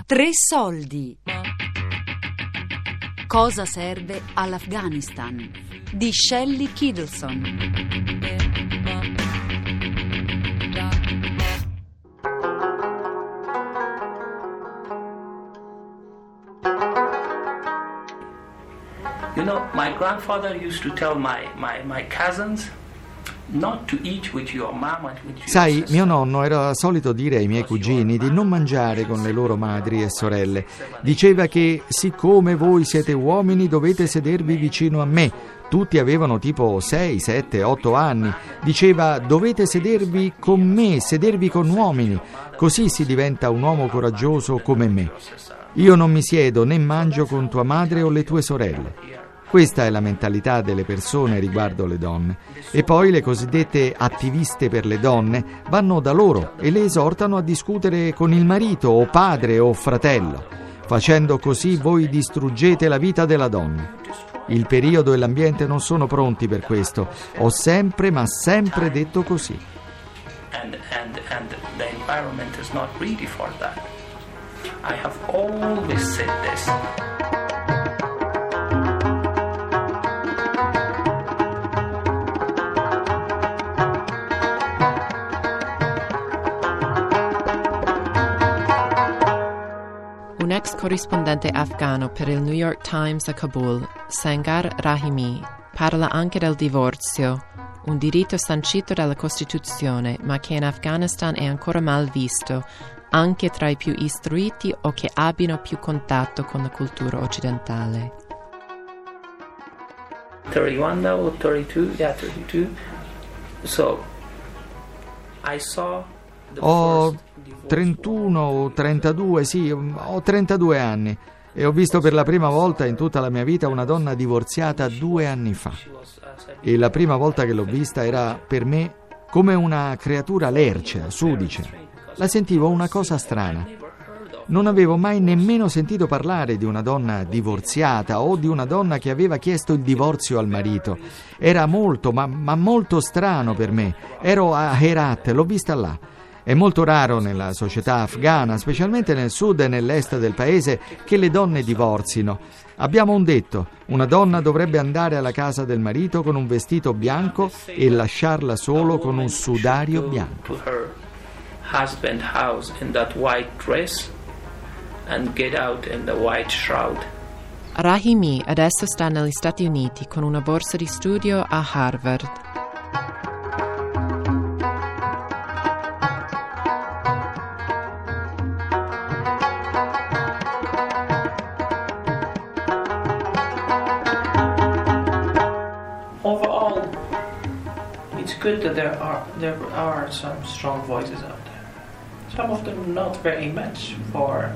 3 soldi. Cosa serve all'Afghanistan? Di Shelley Kittleson. You know, my grandfather used to tell my cousins not to eat with your mama, with your Sai, sister. mio nonno era solito dire ai miei cugini di non mangiare con le loro madri e sorelle. Diceva che, siccome voi siete uomini, dovete sedervi vicino a me. Tutti avevano tipo 6, 7, 8 anni. Diceva, dovete sedervi con me, sedervi con uomini. Così si diventa un uomo coraggioso come me. Io non mi siedo né mangio con tua madre o le tue sorelle. Questa è la mentalità delle persone riguardo le donne. E poi le cosiddette attiviste per le donne vanno da loro e le esortano a discutere con il marito o padre o fratello. Facendo così voi distruggete la vita della donna. Il periodo e l'ambiente non sono pronti per questo. Ho sempre, ma sempre detto così. And the environment is not ready for that. I have always said this. Un ex corrispondente afghano per il New York Times a Kabul, Sangar Rahimi, parla anche del divorzio, un diritto sancito dalla Costituzione, ma che in Afghanistan è ancora mal visto, anche tra i più istruiti o che abbiano più contatto con la cultura occidentale. 31 now or 32? Yeah, 32. So, I saw the Ho first divorce 31 o 32, sì, ho 32 anni e ho visto per la prima volta in tutta la mia vita una donna divorziata 2 anni fa. E la prima volta che l'ho vista era per me come una creatura lercia, sudicia. La sentivo una cosa strana. Non avevo mai nemmeno sentito parlare di una donna divorziata o di una donna che aveva chiesto il divorzio al marito. Era molto, ma molto strano per me. Ero a Herat, l'ho vista là. È molto raro nella società afghana, specialmente nel sud e nell'est del paese, che le donne divorzino. Abbiamo un detto: una donna dovrebbe andare alla casa del marito con un vestito bianco e lasciarla solo con un sudario bianco. to her husband house in that white dress and get out in the white shroud. Rahimi adesso sta negli Stati Uniti con una borsa di studio a Harvard. Overall, it's good that there are some strong voices out there. Some of them not very much for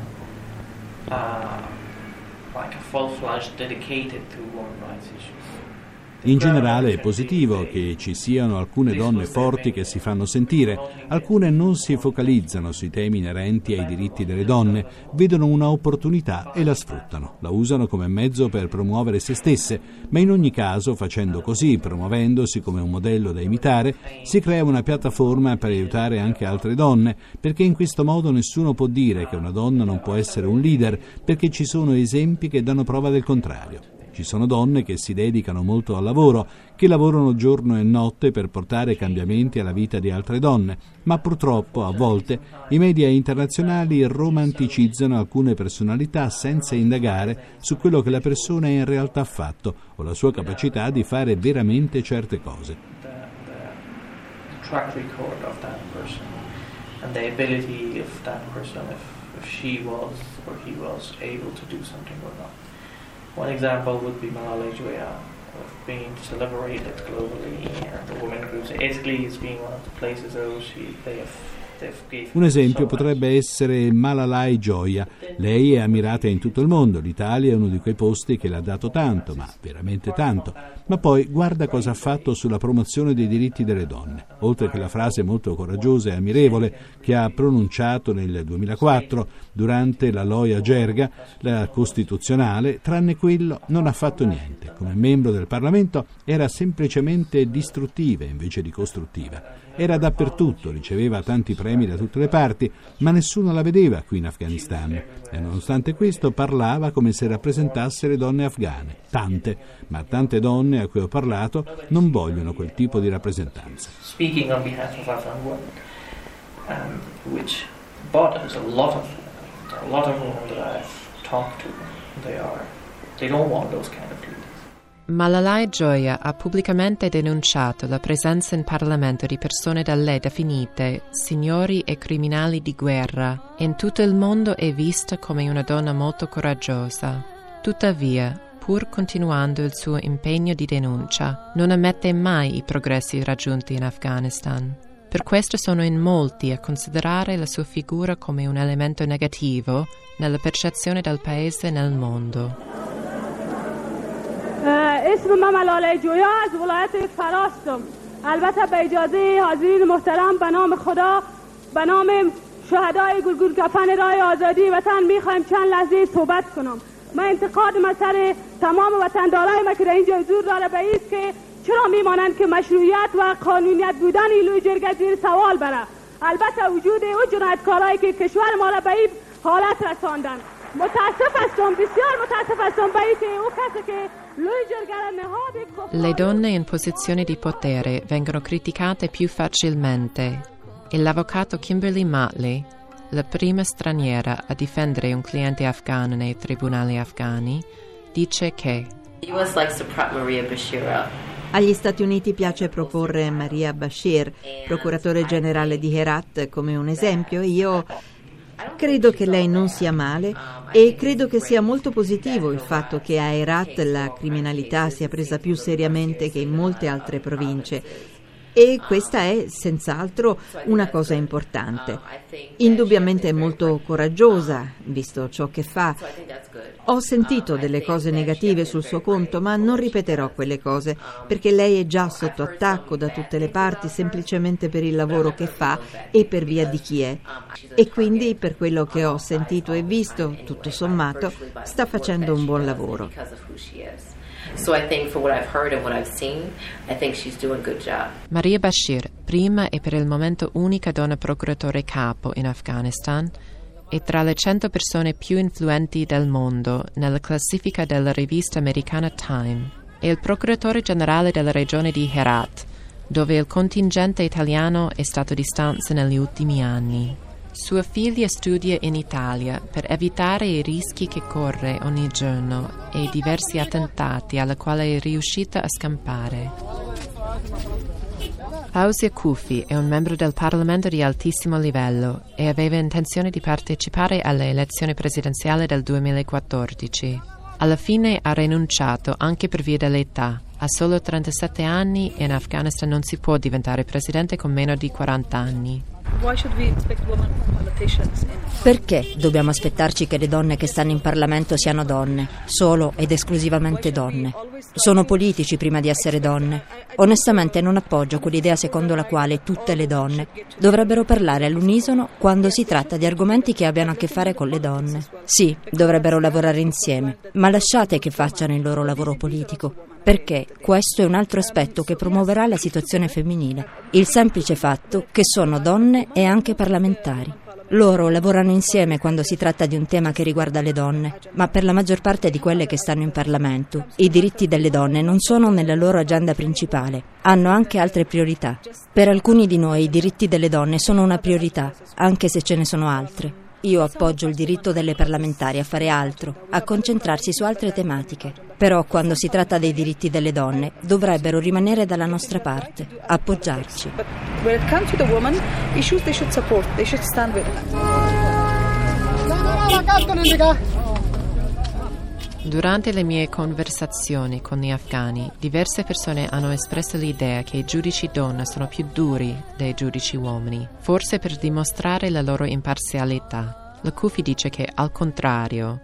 like a full-fledged dedicated to women's rights issues. In generale è positivo che ci siano alcune donne forti che si fanno sentire, alcune non si focalizzano sui temi inerenti ai diritti delle donne, vedono una opportunità e la sfruttano, la usano come mezzo per promuovere se stesse, ma in ogni caso, facendo così, promuovendosi come un modello da imitare, si crea una piattaforma per aiutare anche altre donne, perché in questo modo nessuno può dire che una donna non può essere un leader, perché ci sono esempi che danno prova del contrario. Ci sono donne che si dedicano molto al lavoro, che lavorano giorno e notte per portare cambiamenti alla vita di altre donne, ma purtroppo a volte i media internazionali romanticizzano alcune personalità senza indagare su quello che la persona in realtà ha fatto o la sua capacità di fare veramente certe cose. The track record of that person and the ability of that person if she was or he was able to do something or not. One example would be Malala of being celebrated globally, and the women groups. Italy is being one of the places where they've given Un esempio so potrebbe essere Malalai Joya. Lei è ammirata in tutto il mondo, l'Italia è uno di quei posti che le ha dato tanto, ma veramente tanto. Ma poi guarda cosa ha fatto sulla promozione dei diritti delle donne, oltre che la frase molto coraggiosa e ammirevole che ha pronunciato nel 2004 durante la Loya Jirga, la costituzionale, tranne quello non ha fatto niente. Come membro del Parlamento era semplicemente distruttiva invece di costruttiva. Era dappertutto, riceveva tanti premi problemi da tutte le parti, ma nessuno la vedeva qui in Afghanistan. E nonostante questo parlava come se rappresentasse le donne afghane. Tante, ma tante donne a cui ho parlato non vogliono quel tipo di rappresentanza. Speaking on behalf of Afghan women, which bothers a lot of women that I've talked to. They don't want those kind of leaders. Malalai Joya ha pubblicamente denunciato la presenza in Parlamento di persone da lei definite signori e criminali di guerra e in tutto il mondo è vista come una donna molto coraggiosa. Tuttavia, pur continuando il suo impegno di denuncia, non ammette mai i progressi raggiunti in Afghanistan. Per questo sono in molti a considerare la sua figura come un elemento negativo nella percezione del paese nel mondo. اسم من ملاله جویا از ولایت فراستم. البته به اجازه حاضرین محترم به نام خدا به نام شهدای گلگون کفن راه آزادی وطن میخوایم چند لحظه صحبت کنم. من انتقاد مسئله تمام وطندارای ما که در اینجا حضور داره به این است که چرا میمانند که مشروعیت و قانونیت بودن ایلوی جرگه زیر سوال بره. البته وجود او جنایتکارایی که کشور ما را به این حالت رساندن. متاسف هستم، بسیار متاسف هستم به اینکه او کسی که Le donne in posizione di potere vengono criticate più facilmente e l'avvocato Kimberly Motley, la prima straniera a difendere un cliente afghano nei tribunali afghani, dice che agli Stati Uniti piace proporre Maria Bashir, procuratore generale di Herat, come un esempio. Io credo che lei non sia male e credo che sia molto positivo il fatto che a Herat la criminalità sia presa più seriamente che in molte altre province. E questa è senz'altro una cosa importante. Indubbiamente è molto coraggiosa, visto ciò che fa. Ho sentito delle cose negative sul suo conto, ma non ripeterò quelle cose, perché lei è già sotto attacco da tutte le parti semplicemente per il lavoro che fa e per via di chi è. E quindi, per quello che ho sentito e visto, tutto sommato, sta facendo un buon lavoro. So I think for what I've heard and what I've seen, I think she's doing a good job. Maria Bashir, prima e per il momento unica donna procuratore capo in Afghanistan, è tra le 100 persone più influenti del mondo nella classifica della rivista americana Time. È il procuratore generale della regione di Herat, dove il contingente italiano è stato di stanza negli ultimi anni. Sua figlia studia in Italia per evitare i rischi che corre ogni giorno e i diversi attentati alla quale è riuscita a scampare. Fawzia Kufi è un membro del Parlamento di altissimo livello e aveva intenzione di partecipare alle elezioni presidenziali del 2014. Alla fine ha rinunciato anche per via dell'età. A solo 37 anni in Afghanistan non si può diventare presidente con meno di 40 anni. Perché dobbiamo aspettarci che le donne che stanno in Parlamento siano donne, solo ed esclusivamente donne? Sono politici prima di essere donne. Onestamente non appoggio quell'idea secondo la quale tutte le donne dovrebbero parlare all'unisono quando si tratta di argomenti che abbiano a che fare con le donne. Sì, dovrebbero lavorare insieme, ma lasciate che facciano il loro lavoro politico, perché questo è un altro aspetto che promuoverà la situazione femminile. Il semplice fatto che sono donne e anche parlamentari. Loro lavorano insieme quando si tratta di un tema che riguarda le donne, ma per la maggior parte di quelle che stanno in Parlamento, i diritti delle donne non sono nella loro agenda principale, hanno anche altre priorità. Per alcuni di noi i diritti delle donne sono una priorità, anche se ce ne sono altre. Io appoggio il diritto delle parlamentari a fare altro, a concentrarsi su altre tematiche. Però quando si tratta dei diritti delle donne, dovrebbero rimanere dalla nostra parte, appoggiarci. When it comes to the women issues, they should support, they should stand with them. Durante le mie conversazioni con gli afghani, diverse persone hanno espresso l'idea che i giudici donna sono più duri dei giudici uomini, forse per dimostrare la loro imparzialità. La Kufi dice che, al contrario,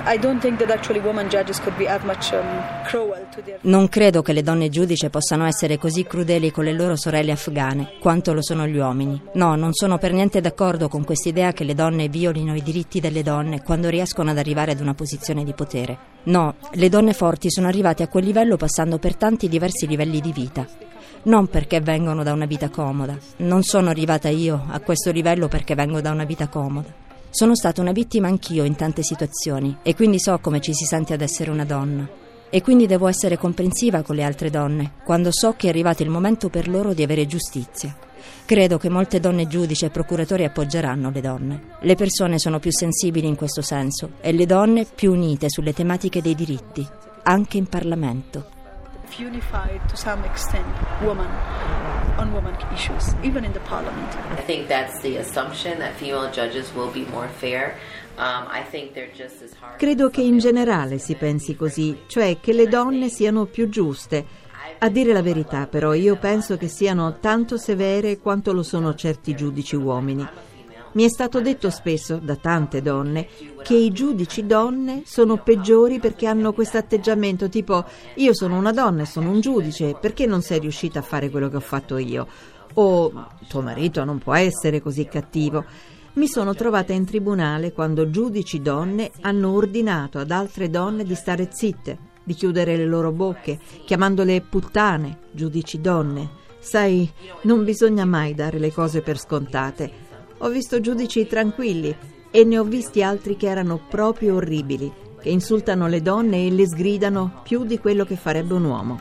non credo che le donne giudice possano essere così crudeli con le loro sorelle afghane quanto lo sono gli uomini. No, non sono per niente d'accordo con quest'idea che le donne violino i diritti delle donne quando riescono ad arrivare ad una posizione di potere. No, le donne forti sono arrivate a quel livello passando per tanti diversi livelli di vita. Non perché vengono da una vita comoda. Non sono arrivata io a questo livello perché vengo da una vita comoda. Sono stata una vittima anch'io in tante situazioni e quindi so come ci si sente ad essere una donna. E quindi devo essere comprensiva con le altre donne quando so che è arrivato il momento per loro di avere giustizia. Credo che molte donne giudici e procuratori appoggeranno le donne. Le persone sono più sensibili in questo senso e le donne più unite sulle tematiche dei diritti, anche in Parlamento. Unified to some extent on women issues, even in the parliament. I think that's the assumption that female judges will be more fair. I think they're just as hard. Credo che in generale si pensi così, cioè che le donne siano più giuste. A dire la verità, però, io penso che siano tanto severe quanto lo sono certi giudici uomini. Mi è stato detto spesso da tante donne che i giudici donne sono peggiori perché hanno questo atteggiamento tipo: io sono una donna e sono un giudice, perché non sei riuscita a fare quello che ho fatto io? O tuo marito non può essere così cattivo. Mi sono trovata in tribunale quando giudici donne hanno ordinato ad altre donne di stare zitte, di chiudere le loro bocche, chiamandole puttane, giudici donne. Sai, non bisogna mai dare le cose per scontate. Ho visto giudici tranquilli e ne ho visti altri che erano proprio orribili, che insultano le donne e le sgridano più di quello che farebbe un uomo.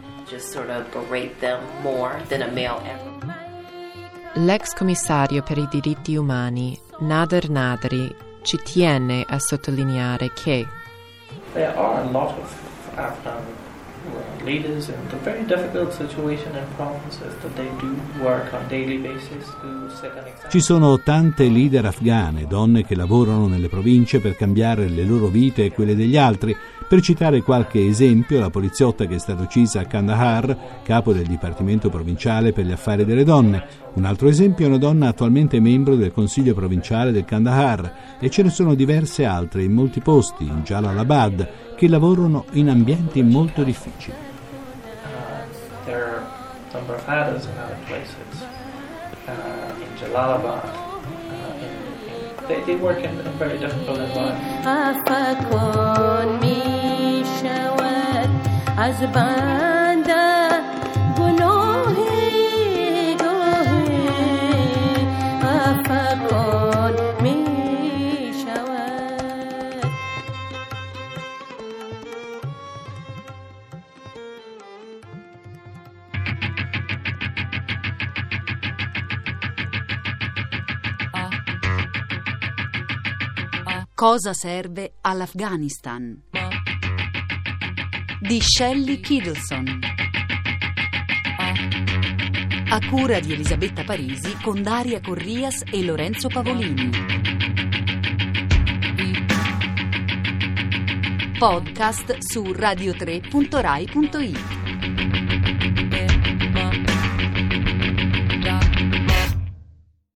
L'ex commissario per i diritti umani, Nader Nadri, ci tiene a sottolineare che there are a lot of Afghan leaders in the very difficult situation in provinces that they do work on daily basis to set an example. Ci sono tante leader afghane, donne che lavorano nelle province per cambiare le loro vite e quelle degli altri. Per citare qualche esempio, la poliziotta che è stata uccisa a Kandahar, capo del Dipartimento Provinciale per gli Affari delle Donne. Un altro esempio è una donna attualmente membro del Consiglio Provinciale del Kandahar, e ce ne sono diverse altre in molti posti, in Jalalabad, che lavorano in ambienti molto difficili. There are a number of others in other places, in Jalalabad. They work in very difficult environments. Cosa serve all'Afghanistan? Di Shelley Kiddleson. A cura di Elisabetta Parisi con Daria Corrias e Lorenzo Pavolini. Podcast su radio3.rai.it.